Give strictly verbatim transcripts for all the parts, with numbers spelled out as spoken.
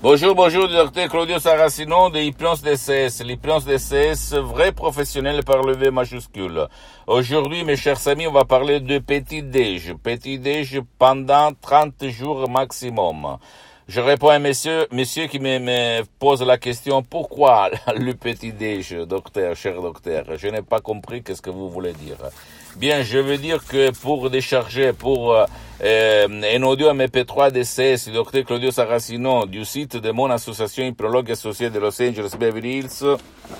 Bonjour, bonjour, docteur Claudio Saracino de Hypnose D C S. L'hypnose D C S, vrai professionnel par le V majuscule. Aujourd'hui, mes chers amis, on va parler de petit déj. Petit déj pendant trente jours maximum. Je réponds à un monsieur, monsieur qui me, me pose la question, pourquoi le petit déj, docteur, cher docteur? Je n'ai pas compris qu'est-ce que vous voulez dire. Bien, je veux dire que pour décharger, pour euh, un audio M P trois D C S, docteur Claudio Saracino, du site de mon association Hypnologue associée de Los Angeles Beverly Hills,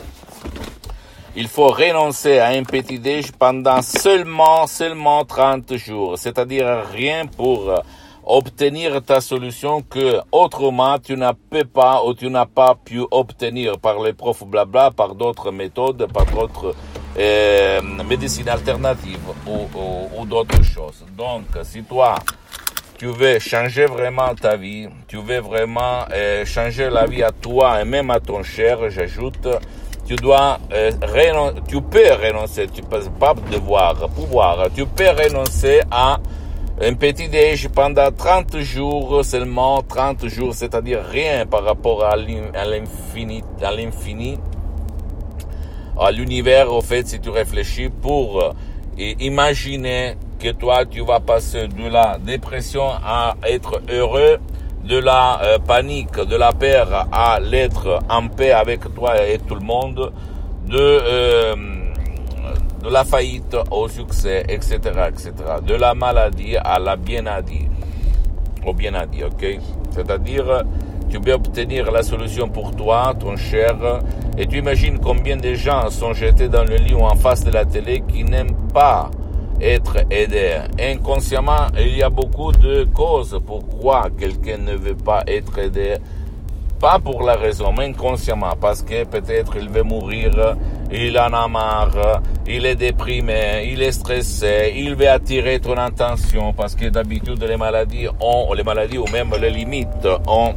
il faut renoncer à un petit déj pendant seulement, seulement trente jours. C'est-à-dire rien pour obtenir ta solution que autrement tu n'as pas ou tu n'as pas pu obtenir par les profs blabla, par d'autres méthodes, par d'autres euh, médecines alternatives ou, ou, ou d'autres choses. Donc, si toi, tu veux changer vraiment ta vie, tu veux vraiment euh, changer la vie à toi et même à ton cher, j'ajoute, tu dois euh, renoncer, tu peux renoncer, tu peux pas devoir, pouvoir, tu peux renoncer à un petit déj pendant trente jours, seulement trente jours, c'est-à-dire rien par rapport à l'infini, à l'infini, à l'univers, au fait, si tu réfléchis, pour euh, imaginer que toi, tu vas passer de la dépression à être heureux, de la euh, panique, de la peur à l'être en paix avec toi et tout le monde, de... Euh, de la faillite au succès, et cetera, et cetera. De la maladie à la bien-adie, au bien-adie, ok? C'est-à-dire, tu peux obtenir la solution pour toi, ton cher, et tu imagines combien de gens sont jetés dans le lit ou en face de la télé qui n'aiment pas être aidés. Inconsciemment, il y a beaucoup de causes pourquoi quelqu'un ne veut pas être aidé. Pas pour la raison, mais inconsciemment, parce que peut-être il veut mourir, il en a marre, il est déprimé, il est stressé, il veut attirer ton attention, parce que d'habitude les maladies ont, les maladies ou même les limites ont,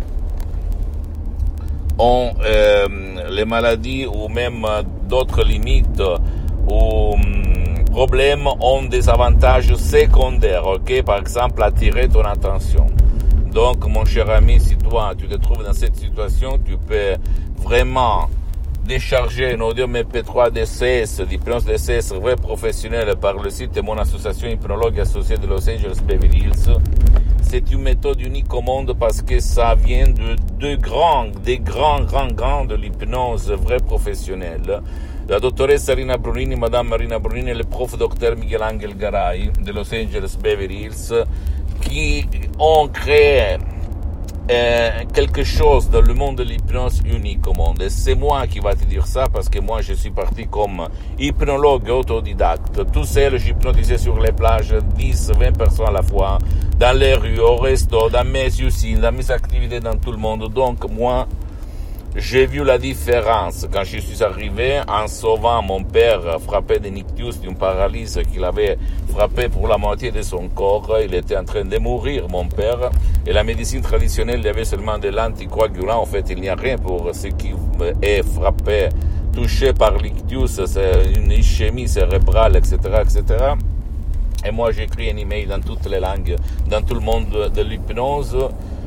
ont euh, les maladies ou même d'autres limites ou hum, problèmes ont des avantages secondaires, ok? Par exemple, attirer ton attention. Donc, mon cher ami, si toi, tu te trouves dans cette situation, tu peux vraiment décharger un audio M P trois D C S, l'hypnose D C S, vrai professionnel par le site de mon association Hypnologue associée de Los Angeles Beverly Hills. C'est une méthode unique au monde parce que ça vient de deux grands, des grands, grands, grands de l'hypnose vrai professionnelle. La dottoressa Rina Brunini, Madame Marina Brunini et le prof docteur Miguel Angel Garay de Los Angeles Beverly Hills, qui ont créé euh, quelque chose dans le monde de l'hypnose unique au monde. Et c'est moi qui va te dire ça parce que moi je suis parti comme hypnologue autodidacte. Tout seul, j'hypnotisais sur les plages dix, vingt personnes à la fois, dans les rues, au resto, dans mes usines, dans mes activités dans tout le monde. Donc moi, j'ai vu la différence quand je suis arrivé en sauvant mon père frappé de nictus, d'une paralysie qu'il avait frappé pour la moitié de son corps. Il était en train de mourir, mon père. Et la médecine traditionnelle, il y avait seulement de l'anticoagulant. En fait, il n'y a rien pour ce qui est frappé, touché par l'ictus, c'est une ischémie cérébrale, et cetera, et cetera. Et moi, j'ai écrit un email dans toutes les langues, dans tout le monde de l'hypnose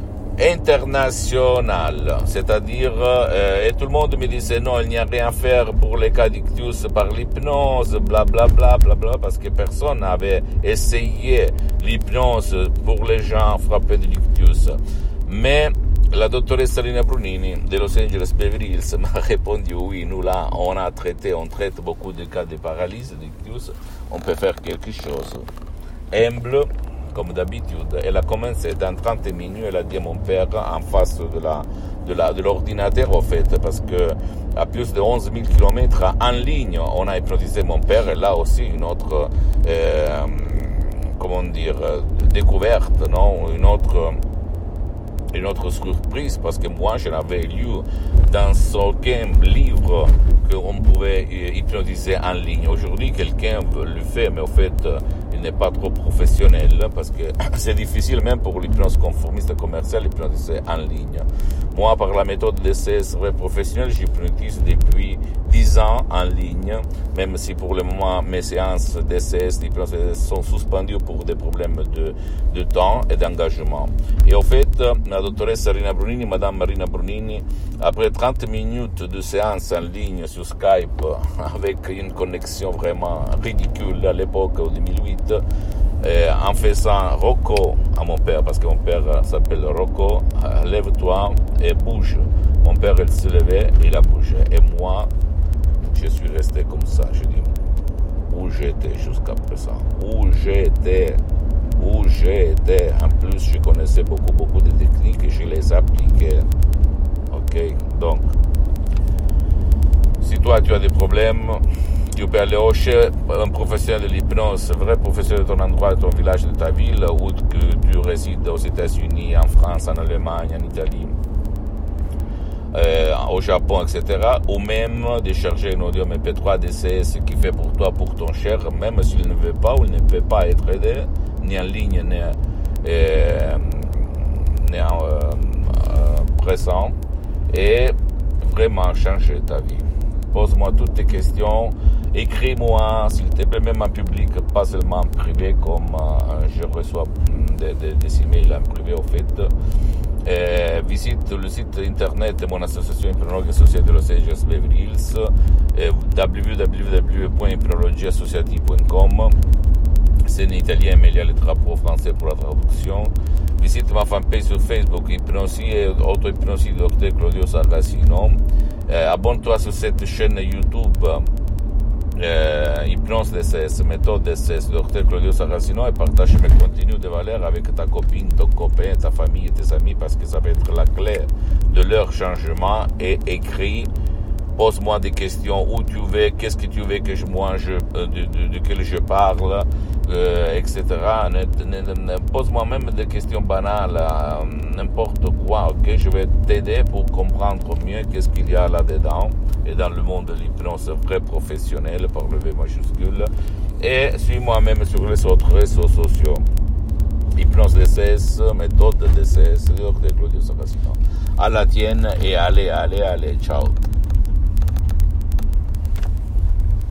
international, c'est-à-dire euh, et tout le monde me disait non, il n'y a rien à faire pour les cas d'ictus par l'hypnose, bla bla bla bla bla, parce que personne n'avait essayé l'hypnose pour les gens frappés de l'ictus. Mais la dottoressa Rina Brunini de Los Angeles Beverly Hills m'a répondu oui, nous là on a traité, on traite beaucoup de cas de paralysie d'ictus, on peut faire quelque chose. Humble comme d'habitude, elle a commencé dans trente minutes, elle a dit à mon père en face de la de la de l'ordinateur au fait, parce que à plus de onze mille kilomètres en ligne, on a hypnotisé mon père, et là aussi une autre euh, comment dire découverte, non, une autre une autre surprise, parce que moi je n'avais lu dans aucun livre qu'on pouvait hypnotiser en ligne. Aujourd'hui, quelqu'un le fait, mais au fait, il n'est pas trop professionnel, parce que c'est difficile même pour l'hypnose conformiste commerciale d'hypnotiser en ligne. Moi, par la méthode D C S vrai professionnel, j'hypnotise depuis dix ans en ligne, même si pour le moment mes séances D C S d'hypnose sont suspendues pour des problèmes de, de temps et d'engagement. Et au fait, la doctoresse Rina Brunini, Madame Marina Brunini, après trente minutes de séance en ligne sur Skype, avec une connexion vraiment ridicule à l'époque, en deux mille huit, Euh, en faisant Rocco à mon père, parce que mon père euh, s'appelle Rocco, euh, lève-toi et bouge. Mon père, il se levait et il a bougé. Et moi, je suis resté comme ça. Je dis, où j'étais jusqu'à présent? Où j'étais? Où j'étais? En plus, je connaissais beaucoup, beaucoup de techniques et je les appliquais. Ok? Donc, si toi, tu as des problèmes, tu peux aller chez un professionnel de l'hypnose, vrai professionnel de ton endroit, de ton village, de ta ville, ou que tu résides aux États-Unis, en France, en Allemagne, en Italie, euh, au Japon, et cetera. Ou même de charger un audio M P trois D C S qui fait pour toi, pour ton cher, même s'il ne veut pas ou il ne peut pas être aidé, ni en ligne, ni, euh, ni en euh, euh, présent, et vraiment changer ta vie. Pose-moi toutes tes questions, écris-moi, s'il te plaît, même en public, pas seulement en privé, comme euh, je reçois des, des, des emails en privé, au fait. Euh, visite le site internet de mon association Hypnologue Associée de Los Angeles Beverly Hills, euh, w w w point hypnologie associative point com. C'est en italien, mais il y a le drapeau français pour la traduction. Visite ma fanpage sur Facebook, Hypnosie et Auto-Hypnosie du docteur Claudio Saracino. Euh, abonne-toi sur cette chaîne YouTube, euh, Hypnose D C S, méthode D C S, docteur Claudio Saracino, et partage mes contenus de valeur avec ta copine, ton copain, ta famille et tes amis, parce que ça va être la clé de leur changement. Et écris, pose-moi des questions, où tu veux, qu'est-ce que tu veux que je mange, euh, de, de, de quel je parle, euh, et cetera. Pose-moi même des questions banales, euh, n'importe quoi, ok? Je vais t'aider pour comprendre mieux qu'est-ce qu'il y a là-dedans, et dans le monde de l'hypnose vrai professionnel, par le V majuscule. Et suis-moi même sur les autres réseaux sociaux. Hypnose D C S, méthode D C S, docteur Claudio Saracino. À la tienne, et allez, allez, allez, ciao.